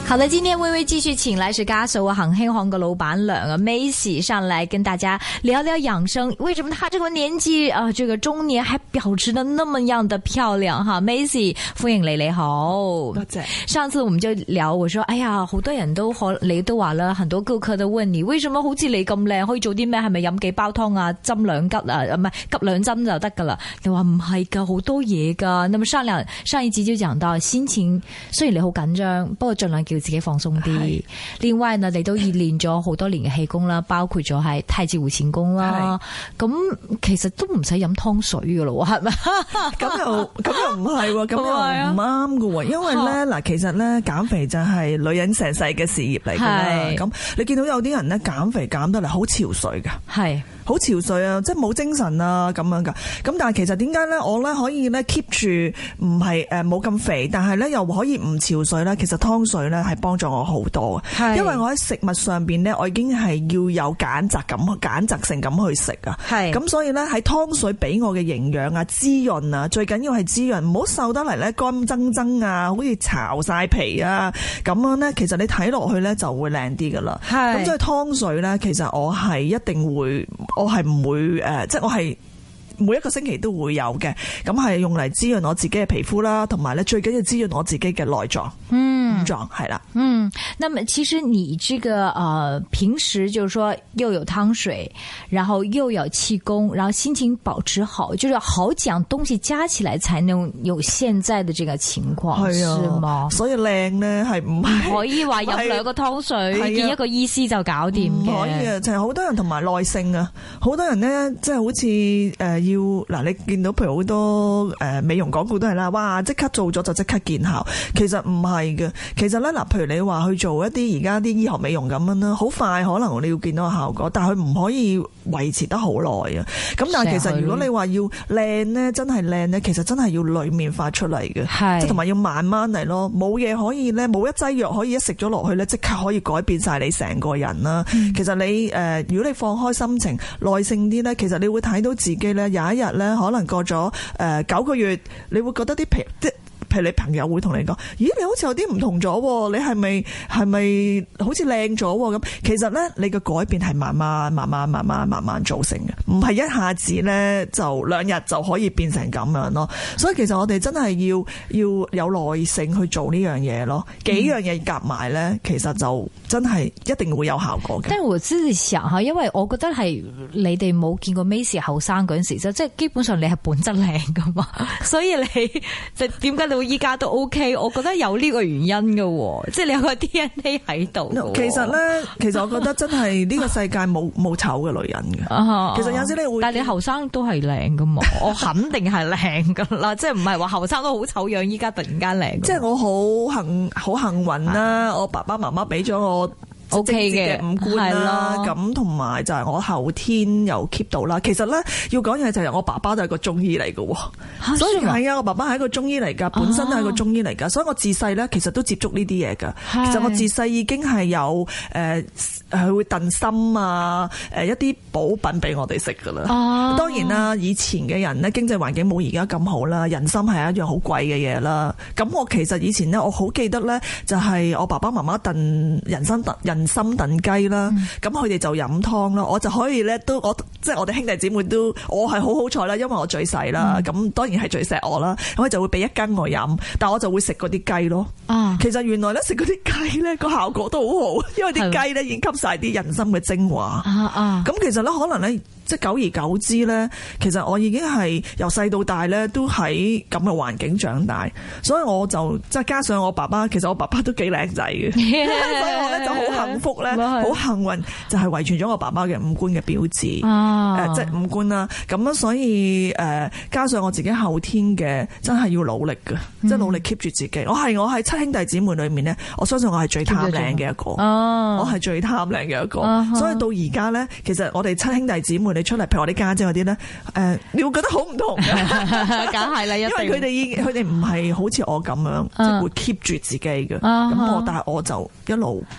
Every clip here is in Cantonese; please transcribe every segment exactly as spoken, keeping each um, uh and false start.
好的，今天微微繼續請來是家嫂啊，恒興行嘅老闆娘啊 Macy 上來跟大家聊聊養生。為什麼她這個年紀啊，這個中年還保持得那麼樣的漂亮哈 ？Macy 歡迎你，你好， 多謝。 上次我們就聊，我說哎呀，好多人都可你都話啦，很多顧客都問你，為什麼好似你咁靚，可以做啲咩？係咪飲幾包湯啊，針兩吉啊，唔係急兩針就得噶啦？你話唔係噶，好多嘢噶。那麼上兩上一集就講到心情，雖然你好緊張，不過盡量叫自己放鬆啲。另外呢，你都練咗好多年嘅氣功啦，包括咗係太極湖前功啦。咁其實都唔使飲湯水噶咯，係咪？ 咁又咁又唔係喎，咁又唔啱噶喎。因為咧嗱，其實咧減肥就係女人成世嘅事業嚟噶啦。咁你見到有啲人咧減肥減得嚟好憔悴噶，係好憔悴啊，即係冇精神啊咁樣噶。咁但係其實點解咧我咧可以咧 keep 住唔係誒冇咁肥，但係咧又可以唔憔悴咧？其實湯水咧係幫助我好多嘅，因為我喺食物上邊咧，我已經係要有揀擇咁、揀擇性咁去食啊。係咁，所以咧喺湯水俾我嘅營養啊、滋潤啊，最緊要係滋潤，唔好瘦得嚟咧乾爭爭啊，好似巢晒皮啊咁樣咧。其實你睇落去咧就會靚啲噶啦。係咁，所以湯水咧，其實我係一定會，我係唔會誒、呃，即係我係。每一個星期都會有嘅，咁係用嚟滋潤我自己嘅皮膚啦，同埋咧最緊要滋潤我自己嘅內臟，嗯，五臟係啦，嗯。 那麼其實你這個呃平時就是說又有湯水，然後又有氣功，然後心情保持好，就是好幾樣東西加起來才能有現在的這個情況，係啊，是嗎？ 所以靚咧係唔可以話飲兩個湯水見一個醫師就搞掂嘅， 唔可以啊！就係好多人同埋耐性啊，好多人咧即係好似誒。呃要嗱，你見到譬如好多誒美容廣告都係啦，哇！即刻做咗就即刻見效，其實唔係嘅。其實咧嗱，譬如你話去做一啲而家啲醫學美容咁樣啦，好快可能你要見到個效果，但係佢唔可以維持得好耐啊。咁但係其實如果你話要靚咧，真係靚咧，其實真係要裡面發出嚟嘅，即係同埋要慢慢嚟咯。冇嘢可以咧，冇一劑藥可以一食咗落去咧，即刻可以改變晒你成個人啦。嗯、其實你誒、呃，如果你放開心情、耐性啲咧，其實你會睇到自己咧。有一日咧，可能過咗誒九個月，你會覺得啲皮即譬如你朋友會同你講，咦，你好似有啲唔同咗，你係咪係咪好似靚咗咁？其實咧，你嘅改變係慢慢、慢慢、慢慢、慢慢造成嘅，唔係一下子咧就兩日就可以變成咁樣咯。所以其實我哋真係要要有耐性去做呢樣嘢咯。幾樣嘢夾埋咧，其實就真係一定會有效果嘅。 但係我自己想下，因為我覺得係你哋冇見過 Macy 後生嗰陣時，即係基本上你係本質靚噶嘛，所以你就點解你會依家都 OK？ 我覺得有呢個原因嘅，即係你有個 D N A 喺度。 其實咧，其實我覺得真係呢個世界冇冇醜嘅女人嘅。其實有時你會， 但係你後生都係靚噶嘛？我肯定係靚噶啦，即係唔係話後生都好醜樣，依家突然間靚。 即係我好幸好幸運啦，我爸爸媽媽俾咗我。O K 嘅五官啦，咁同埋就係我後天又 keep 到啦。其實咧要講嘢就係我爸爸都係個中醫嚟嘅，啊、所以係啊，我爸爸係一個中醫嚟噶，本身都係個中醫嚟噶，啊、所以我自細咧其實都接觸呢啲嘢噶。是其實我自細已經係有誒，佢、呃、會燉心啊，誒一啲補品俾我哋食噶啦。啊、當然啦，以前嘅人咧經濟環境冇而家咁好啦，人參係一樣好貴嘅嘢啦。咁我其實以前咧，我好記得咧，就係我爸爸媽媽燉人參燉人。人參燉雞啦，咁佢哋就飲湯啦，我就可以咧都我即係我哋兄弟姊妹都，我係好好彩啦，因為我最細啦，咁、嗯、當然係最錫我啦，咁佢就會俾一斤我飲，但我就會食嗰啲雞咯。啊，其實原來咧食嗰啲雞咧個效果都好好，因為啲雞咧已經吸晒啲人參嘅精華。啊啊，咁其實咧可能咧。即係久而久之咧，其實我已經係由細到大咧都喺咁嘅環境長大，所以我就即係加上我爸爸，其實我爸爸都幾靚仔嘅，所以我咧就好幸福咧，好幸運就係遺傳咗我爸爸嘅五官嘅標誌，誒、啊呃、即係五官啦。咁樣所以誒、呃、加上我自己後天嘅，真係要努力嘅，嗯、即係努力 keep 住自己。我係我係七兄弟姊妹裏面咧，我相信我係最貪靚嘅一個，啊、我係最貪靚嘅一個，啊、所以到而家咧，其實我哋七兄弟姊妹。你出嚟，譬如我啲家姐嗰啲咧，誒、呃，你會覺得好唔同嘅，梗係啦，因為佢哋已佢哋唔係好似我咁樣，即係、uh, 會 keep 住自己嘅，咁、uh huh. 我但係我就一路。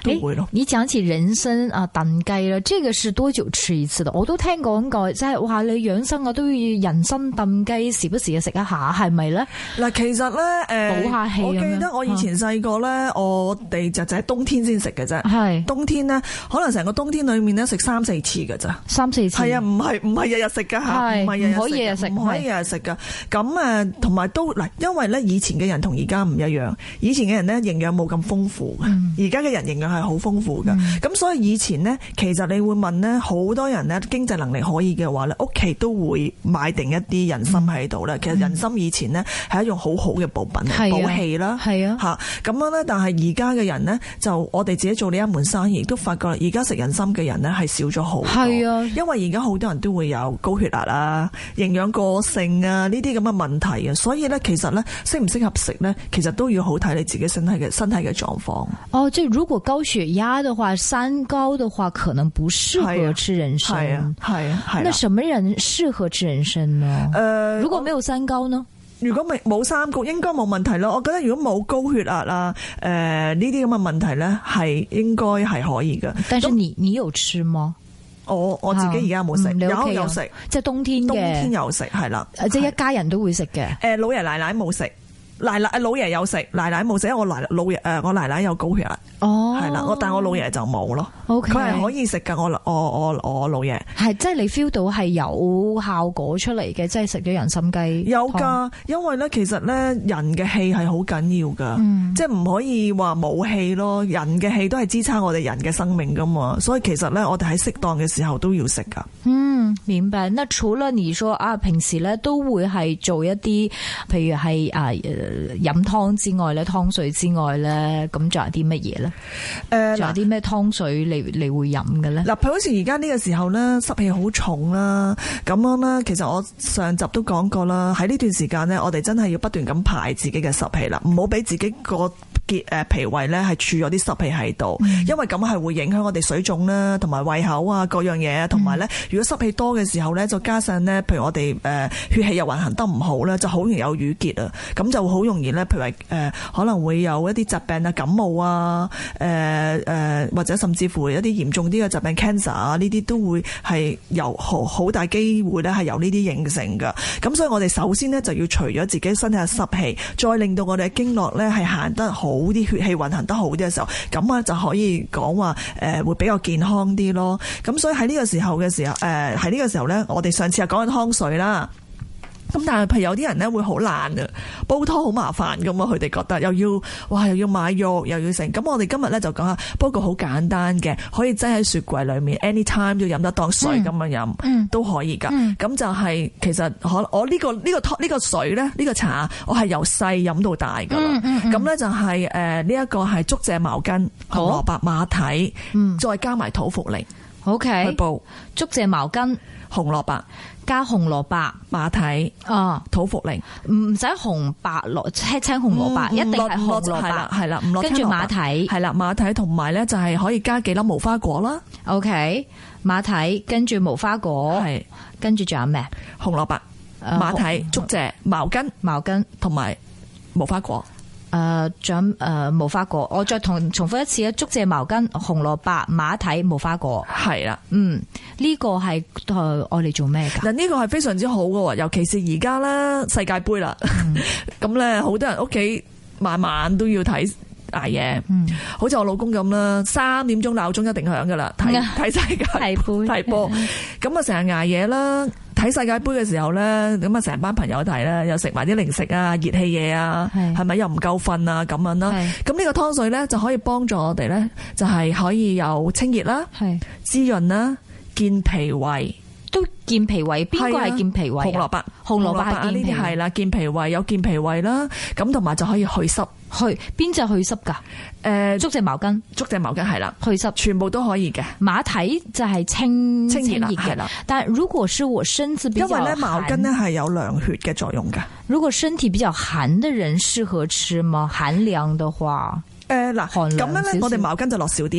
都會咯。 你講起人參啊燉雞啦，這個是多久吃一次的？我都聽講過，即係話你養生啊都要人參燉雞，時不時啊食一下，係咪咧？ 嗱，其實咧誒，補下氣。我記得我以前細個咧，我哋就就喺冬天先食嘅啫。係冬天咧，可能成個冬天裏面咧食三四次嘅咋，三四次。係啊，唔係唔係日日食噶吓，唔係日日可以日日食，唔可以日日食噶。咁誒，同埋都嗱，因為咧以前嘅人同而家唔一樣，以前嘅人咧營養冇咁豐富嘅，而家嘅人營養係好豐富嘅。咁、嗯、所以以前咧，其實你會問咧，好多人咧經濟能力可以嘅話咧，屋企都會買定一啲人參喺度啦。其實人參以前咧係一種好好嘅補品嚟，補氣啦，係啊吓咁樣咧。但係而家嘅人咧，就我哋自己做呢一門生意，亦都發覺而家食人參嘅人咧係少咗好多。係啊，因為而家好多人都會有高血壓啊、營養過剩啊呢啲咁嘅問題啊，所以咧其實咧適唔適合食咧，其實都要好睇你自己身體嘅身體嘅狀況。哦，即係如果高血壓嘅話，三高嘅話，可能不適合吃人參。係啊，係啊，係。那什麼人適合吃人參呢？誒、呃，如果沒有三高呢？如果未冇三高，應該冇問題咯。我覺得如果冇高血壓啊，誒呢啲咁嘅問題咧，係應該係可以嘅。但是你你有吃嗎？我我自己而家冇食，有有食，即係冬天嘅。冬天有食，係啦，即係一家人都會食嘅。誒，老爺奶奶冇食。奶奶老爺有食，奶奶冇食，因為我奶老爺誒，我奶奶有高血壓，哦，係啦，我但係我老爺就冇咯。佢係可以食噶，我我我我老爺係，即係你 feel 到係有效果出嚟嘅，即係食咗人參雞有噶，因為咧其實咧人嘅氣係好緊要噶，嗯、即係唔可以話冇氣咯，人嘅氣都係支撐我哋人嘅生命噶嘛，所以其實咧我哋喺適當嘅時候都要食噶。嗯，明白。那除了你說啊，平時咧都會係做一啲，譬如係啊。飲湯之外咧，湯水之外咧，咁仲有啲乜嘢咧？誒、呃，仲有啲咩湯水你你會飲嘅咧？嗱，譬如好似而家呢個時候咧，濕氣好重啦，咁樣啦。其實我上集都講過啦，喺呢段時間咧，我哋真係要不斷咁排自己嘅濕氣啦，唔好俾自己個結誒脾胃咧係儲咗啲濕氣喺度，嗯、因為咁係會影響我哋水腫啦，同埋胃口啊各樣嘢，同埋咧如果濕氣多嘅時候咧，再加上咧，譬如我哋誒血氣又運行得唔好咧，就好容易有淤結啊，咁就好容易咧，譬如誒、呃、可能會有一啲疾病啊，感冒啊，誒、呃、誒、呃、或者甚至乎一啲嚴重啲嘅疾病 cancer 啊，呢啲都會係由好好大機會咧係由呢啲形成㗎。咁所以我哋首先咧就要除咗自己身體嘅濕氣，再令到我哋嘅經絡咧係行得好啲，血氣運行得好啲嘅時候，咁啊就可以講話誒會比較健康啲咯。咁所以喺呢個時候嘅時候，誒喺呢個時候咧，我哋上次係講緊湯水啦。咁但係譬如有啲人咧會好懶啊，煲湯好麻煩噶嘛，佢哋覺得又要哇又要買肉又要成。咁我哋今日咧就講下煲個好簡單嘅，可以擠喺雪櫃裏面 anytime 都飲得當水咁樣飲，嗯、都可以噶。咁、嗯、就係、是、其實可我呢、呢個呢、呢個湯呢、呢個水咧呢、呢個茶，我係由細飲到大噶啦。咁咧、嗯嗯嗯、就係誒呢一個係竹蔗茅根、紅蘿蔔、馬蹄，嗯、再加埋土茯苓。OK，去煲竹蔗茅根、紅蘿蔔。加紅蘿蔔、馬蹄啊、土茯苓，唔使紅白蘿青青紅蘿蔔，嗯、一定係紅蘿蔔，係啦，唔落跟住馬蹄，係啦，馬蹄同埋咧就係可以加幾粒無花果啦。OK，馬蹄跟住無花果，係跟住仲有咩？紅蘿蔔、馬蹄、竹蔗、茅根、茅根同埋無花果。誒，仲有誒無花果，我再同重複一次啊！竹蔗、茅根、紅蘿蔔、馬蹄、無花果，係啦，嗯，呢個係誒我哋做咩噶？嗱，呢個係非常之好噶，尤其是而家啦，世界盃啦，咁咧好多人屋企晚晚都要睇捱夜，嗯，好似我老公咁啦，三點鐘鬧鐘一定響噶啦，睇睇世界盃睇波，咁啊成日捱夜啦。睇世界盃嘅時候咧，咁啊成班朋友睇啦，又食埋啲零食啊、熱氣嘢啊，係咪又唔夠瞓啊咁樣啦？咁呢個湯水咧就可以幫助我哋咧，就係可以有清熱啦、滋潤啦、健脾胃，都健脾胃。邊個係健脾胃？紅蘿蔔，紅蘿蔔係呢啲係啦，健脾胃有健脾胃啦，咁同埋就可以去濕。去邊隻去濕噶？誒，竹蔗茅根，竹蔗茅根係啦，去濕全部都可以嘅。馬蹄就係清清熱嘅啦。但係如果是我身子比較寒，因為咧茅根咧係有涼血嘅作用噶。如果身體比較寒嘅人適合吃嗎？寒涼嘅話，誒嗱，咁樣咧我哋茅根就落少啲啦。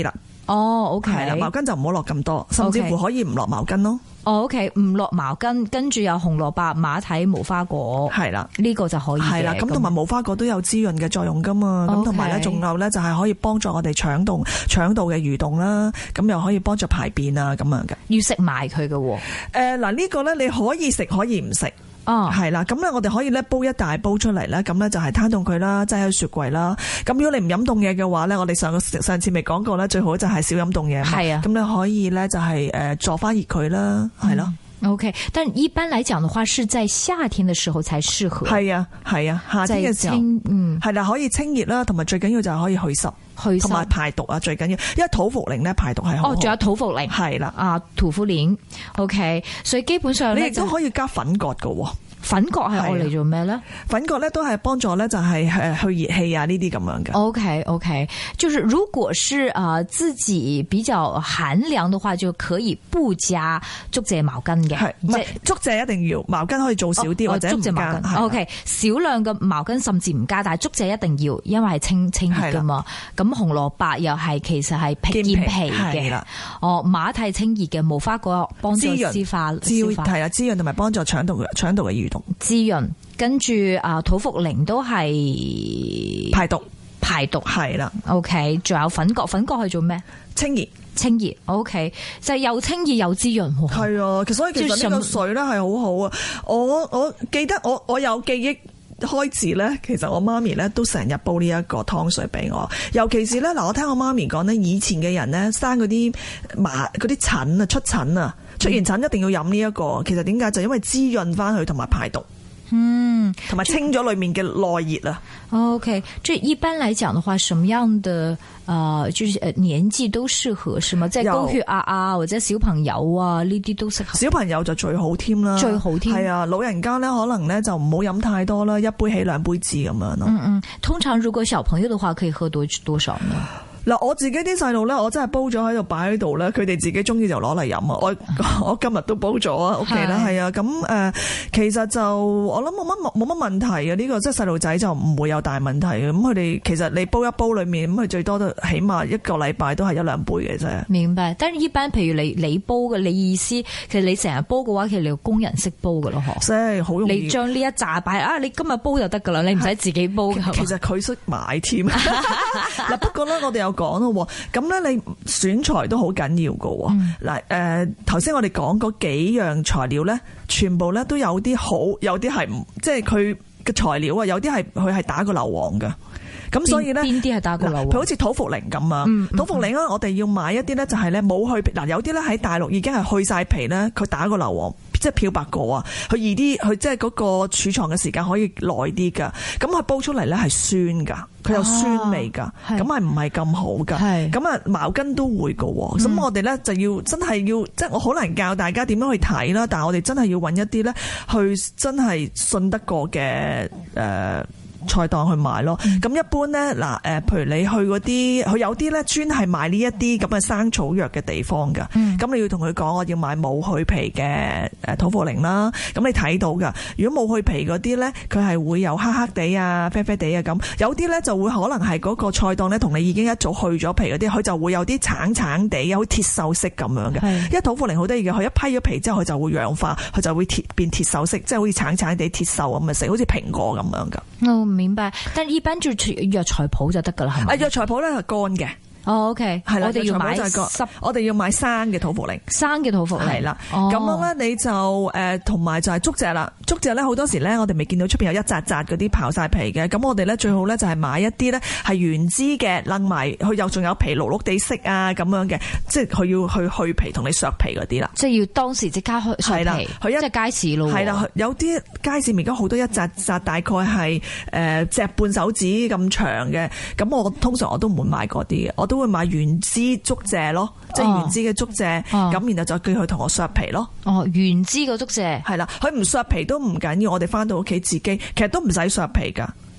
哦，OK， 係啦，茅根就唔好落咁多，甚至乎可以唔落茅根咯。 哦 ，OK， 唔落茅根，跟住有紅蘿蔔、馬蹄、無花果， 係啦， 呢個就可以嘅。 係啦，咁同埋無花果都有滋潤嘅作用噶嘛，咁同埋咧仲有咧就係可以幫助我哋腸道腸道嘅蠕動啦，咁又可以幫助排便啊咁樣嘅。 要食埋佢嘅。誒、 呃，嗱、這、呢個咧你可以食可以唔食。 哦， 係啦，咁咧我哋可以咧煲一大煲出嚟咧，咁咧就係攤凍佢啦，擠喺雪櫃啦。咁如果你唔飲凍嘢嘅話咧，我哋上個上次未講過咧，最好就係少飲凍嘢。係啊，咁你可以咧就係誒坐翻熱佢啦，係咯。 OK， 但一般來講的話，是在夏天的時候才適合。 係啊，係啊，夏天嘅時候，嗯，係啦，可以清熱啦，同埋最緊要就係可以去濕，去濕同埋排毒啊，最緊要，因為土茯苓咧排毒係好好。哦，仲有土茯苓，係啦，啊，土茯苓 OK， 所以基本上你亦都可以加粉葛㗎。粉葛係愛嚟做咩咧？粉葛咧都係幫助咧，就係誒去熱氣啊呢啲咁樣嘅。OK OK， 就是如果是啊、呃、自己比較寒涼的話，就可以不加竹蔗茅根嘅。係唔係竹蔗一定要，茅根可以做少啲、哦、或者唔加。竹蔗茅根 OK， 少量嘅茅根甚至唔加，但係竹蔗一定要，因為係清清熱噶嘛。咁紅蘿蔔又係其實係健脾嘅。哦，馬蹄清熱嘅，無花果幫助消化，係啊滋潤同埋幫助腸道腸道嘅蠕動。滋潤，跟住啊土茯苓都係排毒，排毒係啦。OK， 仲有粉葛，粉葛係做咩？清熱，清熱。OK， 就係又清熱又滋潤。係啊，所以其實呢個水咧係好好啊。我我記得我我有記憶開始咧，其實我媽咪咧都成日煲呢一個湯水俾我。尤其是咧嗱，我聽我媽咪講咧，以前嘅人咧生嗰啲麻嗰啲疹啊，出疹啊。出完疹一定要飲呢一個，其實點解就因為滋潤翻佢同埋排毒，嗯，同埋清咗裏面嘅內熱啊。OK， 即係一般嚟講嘅話，什麼樣嘅誒，就是誒年紀都適合，是嗎？即係高血壓啊，或者小朋友啊呢啲都適合。小朋友就最好添啦，最好添。係啊，老人家咧可能咧就唔好飲太多啦，一杯起兩杯止咁樣咯。嗯嗯，通常如果小朋友嘅話，可以喝多多少呢？嗱，我自己啲細路咧，我真係煲咗喺度擺喺度咧，佢哋自己中意就攞嚟飲啊！我我今日都煲咗啊，屋企啦，係啊，咁誒、呃，其實就我諗冇乜冇乜問題嘅，呢、這個即係細路仔就唔會有大問題嘅。咁佢哋其實你煲一煲裏面，咁佢最多都起碼一個禮拜都係一兩杯嘅啫。明白，但係一般譬如你你煲嘅，你意思其實你成日煲嘅話，其實你工人識煲嘅咯，嗬？即係好容易。你將呢一紮擺啊，你今日煲就得噶啦，你唔使自己煲。其實佢識買添。嗱，不過咧，我哋有講咯，咁咧你選材都好緊要噶。嗱、嗯，誒，頭先我哋講嗰幾樣材料咧，全部咧都有啲好，有啲係唔，即係佢嘅材料啊，有啲係佢係打過硫磺噶。咁所以咧，邊啲係打過硫磺？佢好似土茯苓咁啊，嗯嗯、土茯苓咧，我哋要買一啲咧，就係咧冇去皮。嗱，有啲咧喺大陸已經係去晒皮咧，佢打過硫磺。即係漂白過啊，佢易啲，佢即係嗰個儲藏嘅時間可以耐啲噶。咁佢煲出嚟咧係酸噶，佢有酸味噶，咁係唔係咁好噶？咁啊茅根都會噶，咁、嗯、我哋咧就要真係要，即係我好難教大家點樣去睇啦。但係我哋真係要揾一啲咧，去真係信得過嘅誒。呃菜檔去買咯，咁、嗯、一般咧嗱誒，譬如你去嗰啲，佢有啲咧專係賣呢一啲咁嘅生草藥嘅地方噶，咁、嗯、你要同佢講，我要買冇去皮嘅誒土茯苓啦，咁你睇到噶，如果冇去皮嗰啲咧，佢係會有黑黑地啊、啡啡地啊咁，有啲咧就會可能係嗰個菜檔咧同你已經一早去咗皮嗰啲，佢就會有啲橙橙地，有鐵鏽色咁樣嘅。因為土茯苓好得意嘅，佢一批咗皮之後，佢就會氧化，佢就會鐵變鐵鏽色，即係好似橙橙地鐵鏽咁嘅色，好似蘋果咁樣噶。嗯明白，但係一般就藥材鋪就得噶啦，係咪？啊，藥材鋪咧係乾嘅。哦 ，OK， 係啦，我哋要買濕，我哋要買生嘅土茯苓，生嘅土茯苓係啦。咁樣咧，你就誒同埋就係竹蔗啦。竹蔗咧好多時咧，我哋未見到出邊有一紮紮嗰啲刨晒皮嘅。咁我哋咧最好咧就係買一啲咧係原枝嘅，擸埋佢又仲有皮綠綠地色啊咁樣嘅，即係佢要去去皮同你削皮嗰啲啦。即係要當時即刻去削皮，佢一即係街市咯。係啦，有啲街市而家好多一紮紮，大概係誒隻半手指咁長嘅。咁我通常我都唔會買嗰啲嘅，我都會買原枝竹蔗咯，即係原枝嘅竹蔗，咁、哦、然後就叫佢同我削皮咯。哦，原枝嘅竹蔗係啦，佢唔削皮都唔緊要，我哋翻到屋企自己，其實都唔使削皮噶。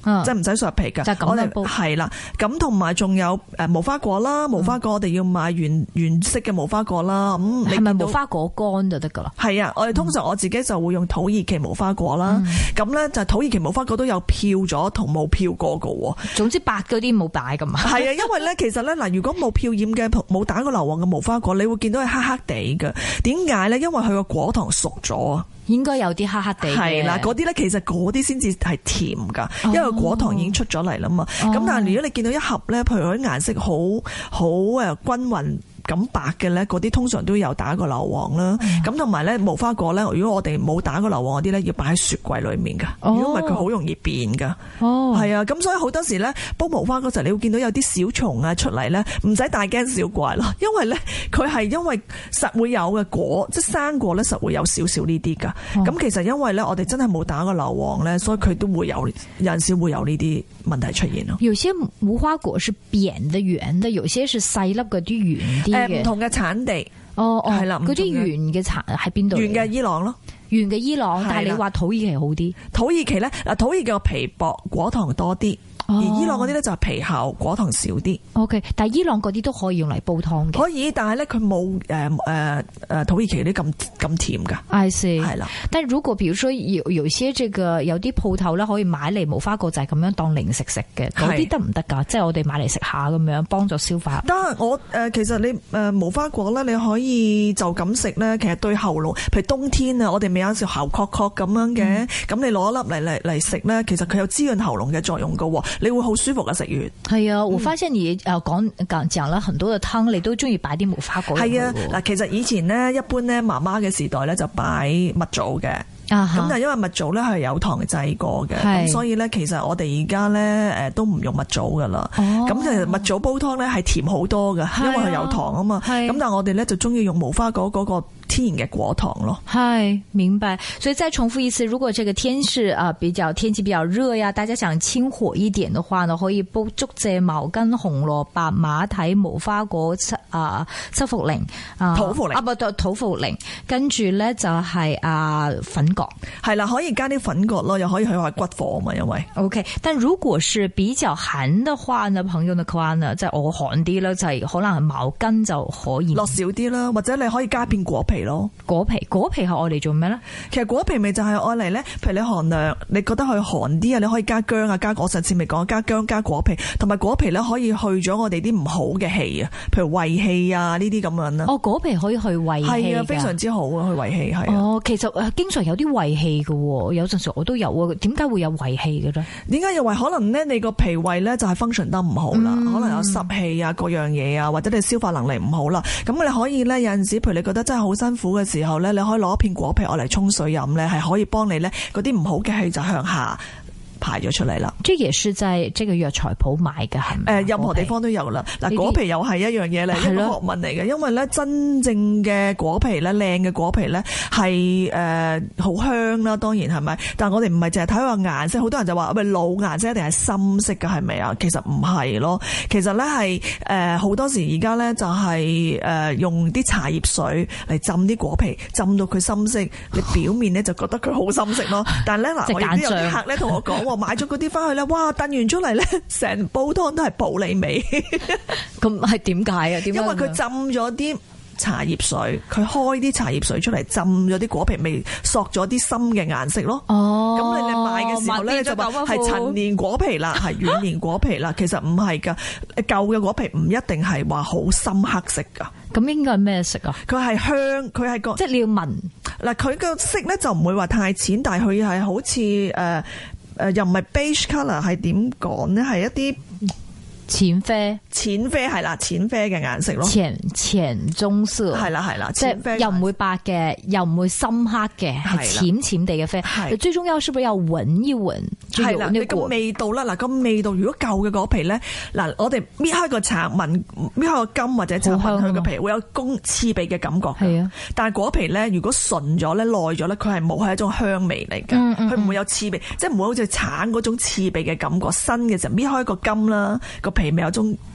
嗯、即係唔使削皮㗎。 就咁樣煲係啦，咁同埋仲有誒無花果啦，無花果我哋要買原原色嘅無花果啦。咁係咪無花果乾就得㗎啦？ 係啊，我哋通常我自己就會用土耳其無花果啦。咁咧、嗯、就土耳其無花果都有漂咗同冇漂過㗎喎。總之白嗰啲冇擺㗎嘛。 係啊，因為咧其實咧嗱，如果冇漂染嘅冇打過硫磺嘅無花果，你會見到係黑黑地嘅。點解咧？因為佢個果糖熟咗啊。 應該有啲黑黑地嘅。 係啦，嗰啲咧其實嗰啲先至係甜㗎，因為果糖已經出咗嚟啦嘛。咁、哦、但係如果你見到一盒咧，譬如佢啲顏色好好誒均勻咁白嘅咧，嗰啲通常都有打過硫磺啦。咁同埋咧無花果咧，如果我哋冇打過硫磺嗰啲咧，要擺喺雪櫃裏面㗎。如果唔係佢好容易變㗎。哦，係啊，咁所以好多時咧煲無花果時候，你會見到有啲小蟲啊出嚟咧，唔使大驚小怪咯，因為咧佢係因為實會有嘅果，即係生果咧實會有少少呢啲㗎。咁、哦、其實因為咧我哋真係冇打過硫磺咧，所以佢都會有有陣時會有呢啲問題出現咯。 有些無花果是扁的圓的，有些是細粒嗰啲圓啲。 誒唔同嘅產地， 哦哦， 係啦， 嗰啲圓嘅產喺邊度？ 圓嘅伊朗咯， 圓嘅伊朗，但係你話土耳其好啲？ 土耳其咧，嗱土耳其個皮薄，果糖多啲。而伊朗嗰啲咧就係皮厚，果糖少啲。 O K， 但係伊朗嗰啲都可以用嚟煲湯嘅。 可以，但係咧佢冇誒誒誒土耳其啲咁咁甜㗎。 I see， 係啦。 但係如果譬如說有有些這個有啲鋪頭咧可以買嚟無花果就係咁樣當零食食嘅，嗰啲得唔得㗎？即係我哋買嚟食下咁樣幫助消化。 得我誒、呃，其實你誒、呃、無花果咧，你可以就咁食咧。其實對喉嚨，譬如冬天啊，我哋咪有時喉確確咁樣嘅，咁、嗯、你攞一粒嚟嚟嚟食咧，其實佢有滋潤喉嚨嘅作用㗎喎。你會好舒服嘅食完。係啊，我發現你誒講講講啦，很多嘅湯你都中意擺啲無花果。 係啊，嗱，其實以前咧，一般咧，媽媽嘅時代咧就擺蜜棗嘅。咁但係因為蜜棗咧係有糖製過嘅，咁所以咧其實我哋而家咧誒都唔用蜜棗噶啦。咁其實蜜棗煲湯咧係甜好多嘅，因為佢有糖啊嘛。咁但係我哋咧就中意用無花果嗰個天然嘅果糖咯。 係，明白。所以再重複一次，如果這個天是啊比較天氣比較熱呀，大家想清火一點的話呢，可以煲竹蔗茅根紅蘿蔔馬蹄無花果七啊七茯苓啊土茯苓啊不對土茯苓，跟住咧就係啊粉葛， 係啦，可以加啲粉葛咯，又可以去開骨火啊嘛，因為 OK。但如果是比較寒的話呢，朋友嘅話呢，即係我寒啲啦，就係可能茅根就可以落少啲啦，或者你可以加片果皮咯。 果皮果皮係愛嚟做咩咧？ 其實果皮咪就係愛嚟咧，譬如你寒涼，你覺得佢寒啲啊，你可以加薑啊，加我上次咪講加薑加果皮，同埋果皮咧可以去咗我哋啲唔好嘅氣啊，譬如胃氣啊呢啲咁樣啦。 哦，果皮可以去胃氣，係啊，非常之好啊，去胃氣係。 哦，其實誒經常有啲胃氣嘅，有陣時我都有啊。點解會有胃氣嘅咧？ 點解有胃？可能咧你個脾胃咧就係 function 得唔好啦，嗯、可能有濕氣啊，各樣嘢啊，或者你消化能力唔好啦。咁你可以咧有陣時，譬如你覺得真係好辛苦嘅時候咧，你可以攞一片果皮我嚟沖水飲咧，係可以幫你咧嗰啲唔好嘅氣就向下排咗出嚟啦。 這也是在這個藥材鋪買嘅係咪？ 誒，任何地方都有啦。嗱，果皮又係一樣嘢嚟，一個學問嚟嘅。因為咧，真正嘅果皮咧，靚嘅果皮咧，係誒好香啦。當然係咪？但係我哋唔係淨係睇個顏色，好多人就話喂老顏色一定係深色嘅係咪啊？其實唔係咯。其實咧係誒好多時而家咧就係誒用啲茶葉水嚟浸啲果皮，浸到佢深色，你表面咧就覺得佢好深色咯。但係咧嗱，我亦都有啲客咧同我講。買咗嗰啲翻去咧，哇！燉完出嚟咧，成煲湯都係普洱味。 咁係點解啊？點解？ 因為佢浸咗啲茶葉水，佢開啲茶葉水出嚟，浸咗啲果皮味，索咗啲深嘅顏色咯。哦，咁你你買嘅時候咧就話係陳年果皮啦，係軟年果皮啦。其實唔係噶，舊嘅果皮唔一定係話好深黑色噶。 咁應該係咩色啊？ 佢係香，佢係個即係你要聞嗱，佢個色咧就唔會話太淺，但係佢係好似誒。呃誒、呃，又唔係 beige colour， 係點講咧？係一啲淺啡， 淺啡係啦，淺啡嘅顏色咯。 淺淺棕色係啦係啦， 即係又唔會白嘅，又唔會深黑嘅，係淺淺地嘅啡。係最重要是不是要聞一聞？ 係啦，你個味道啦，嗱個味道，如果舊嘅果皮咧，嗱我哋搣開個橙，聞搣開個根或者橙，聞佢個皮會有公刺鼻嘅感覺嘅。係啊，但係果皮咧，如果純咗咧，耐咗咧，佢係冇係一種香味嚟嘅，佢、嗯、唔、嗯、會有刺鼻，即係唔會好似橙嗰種刺鼻嘅感覺。新嘅時候搣開個根啦，個皮咪有種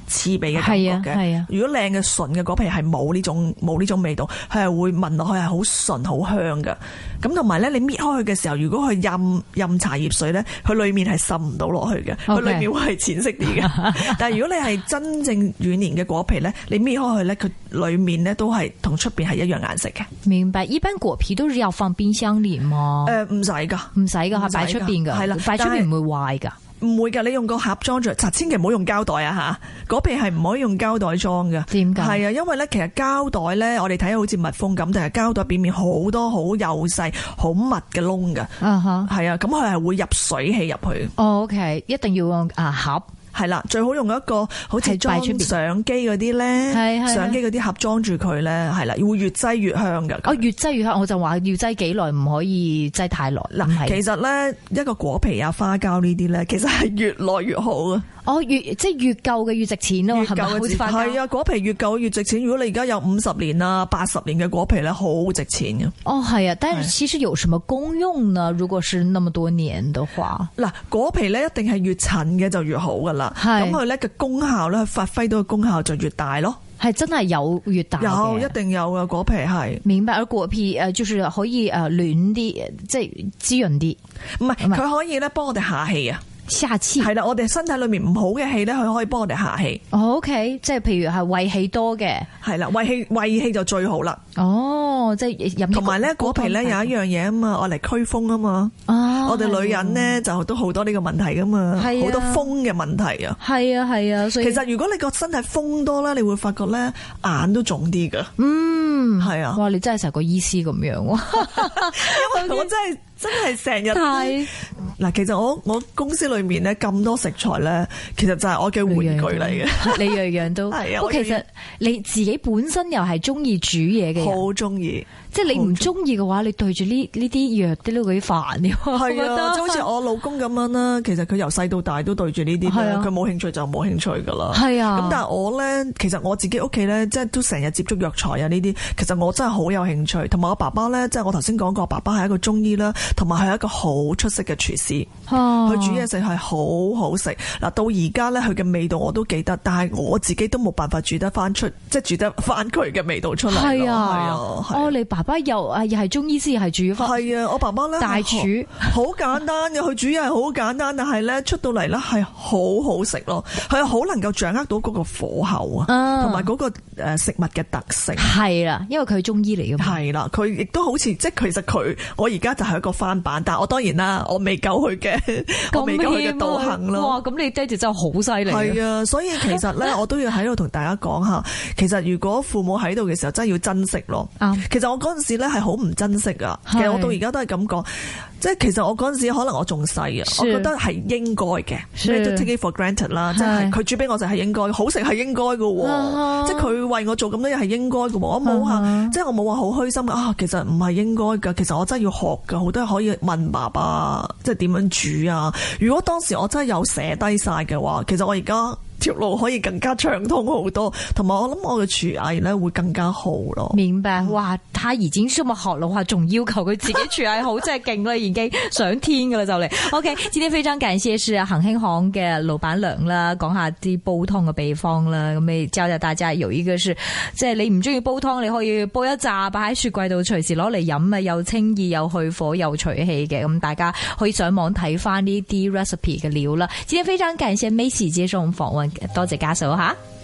刺鼻嘅感覺嘅。 係啊， 如果靚嘅純嘅果皮係冇呢種冇呢種味道，佢係會聞落去係好純好香㗎。咁同埋咧，你搣開佢嘅時候，如果佢浸浸茶葉水咧，佢裏面係滲唔到落去嘅，佢裏面會係淺色啲嘅。但係如果你係真正軟黏嘅果皮咧，你搣開佢咧，佢裏面咧都係同出邊係一樣顏色嘅。 明白。一般果皮都是要放冰箱裏嗎？誒、 呃，唔使噶， 唔使噶，係擺出邊噶，係啦，擺出邊唔會壞噶。 唔會㗎，你用個盒裝住，千祈唔好用膠袋啊嚇！果皮係唔可以用膠袋裝嘅。 點解？ 係啊，因為咧，其實膠袋咧，我哋睇好似蜜蜂咁，但係膠袋表面好多好幼細、好密嘅窿㗎。啊哈，係啊，咁佢係會入水氣入去。 哦 OK， 一定要用啊盒。係啦，最好用一個好似裝相機嗰啲咧，相機嗰啲盒裝住佢咧，係啦，會越擠越香㗎。 哦，越擠越香，我就話要擠幾耐，唔可以擠太耐。 嗱，其實咧一個果皮啊、花膠呢啲咧，其實係越耐越好啊。 哦，越即係越舊嘅越值錢咯，係咪？好似花膠係啊，果皮越舊越值錢。如果你而家有五十年啊、八十年嘅果皮咧，好值錢嘅。 哦，係啊，但係其實有什麼功用呢？如果是那麼多年嘅話， 嗱，果皮咧一定係越陳嘅就越好噶啦。咁佢咧嘅功效咧，發揮到嘅功效就越大咯。 係真係有越大嘅， 有一定有嘅果皮係。 明白，而果皮誒，就是可以誒暖啲，即係滋潤啲。 唔係，佢可以咧幫我哋下氣啊。 下氣係啦，我哋身體裏面唔好嘅氣咧，佢可以幫我哋下氣。 哦 OK， 即係譬如係胃氣多嘅， 係啦，胃氣胃氣就最好啦。 哦，即係飲。同埋咧，果皮咧有一樣嘢啊嘛，我嚟驅風啊嘛。哦，我哋女人咧就都好多呢個問題噶嘛，好多風嘅問題啊。係啊係啊，所以其實如果你個身體風多咧，你會發覺咧眼都腫啲噶。嗯，係啊。哇， 你真係成個醫師咁樣。 因為我真係。真係成日嗱，其實我我公司裏面咧咁多食材咧，其實就係我嘅玩具嚟嘅。 你樣樣都係啊。不過其實你自己本身又係中意煮嘢嘅， 好中意。 即係你唔中意嘅話，你對住呢呢啲藥啲都幾煩嘅。 係啊，即好似我老公咁樣啦。其實佢由細到大都對住呢啲，佢冇興趣就冇興趣噶啦。係啊。咁但係我咧，其實我自己屋企咧，即係都成日接觸藥材啊呢啲。其實我真係好有興趣。同埋我爸爸咧，即係我頭先講過，爸爸係一個中醫啦。同埋係一個好出色嘅廚師，佢、啊、煮嘢食係好好食。嗱，到而家咧，佢嘅味道我都記得，但係我自己都冇辦法煮得翻出，即係煮得翻佢嘅味道出嚟。係啊，係啊。 哦，你爸爸又啊，又係中醫師，又係煮翻。 係啊，我爸爸咧大廚，好簡單嘅，佢煮嘢係好簡單，但係咧出到嚟咧係好好食咯。佢好能夠掌握到嗰個火候啊，同埋嗰個誒食物嘅特性。係啦， 因為佢係中醫嚟嘅嘛。 係啦，佢亦都好似即係其實佢，我而家就係一個翻版，但係我當然啦，我未夠佢嘅，我未夠佢嘅道行咯。 哇，咁你爹哋真係好犀利。 係啊，所以其實咧，我都要喺度同大家講下，其實如果父母喺度嘅時候，真係要珍惜咯。啊、其實我嗰陣時咧係好唔珍惜噶，其實我到而家都係咁講。即係其實我嗰陣時可能我仲細啊，我覺得係應該嘅，咩都 take it for granted 啦。即係佢煮俾我就係應該，好食係應該嘅。啊、即係佢為我做咁多嘢係應該嘅。我冇話，啊、即係我冇話好虛心啊。其實唔係應該㗎，其實我真係要學㗎，好多可以問爸爸，即係點樣煮啊。如果當時我真係有寫低晒嘅話，其實我而家條路可以更加暢通好多，同埋我諗我嘅廚藝咧會更加好咯。 明白，哇！他已經這麼學嘅話，仲要求佢自己廚藝好，真係勁啦，已經上天噶啦就嚟。OK， 今天非常感謝是恒興行嘅老闆娘啦，講下啲煲湯嘅秘方啦，咁你教教大家有一個是，即係你唔中意煲湯，你可以煲一扎擺喺雪櫃度，隨時攞嚟飲啊，又清熱又去火又除氣嘅。咁大家可以上網睇翻呢啲 recipe 嘅料啦。今天非常感謝 Macy 接受訪問。多謝家嫂吓。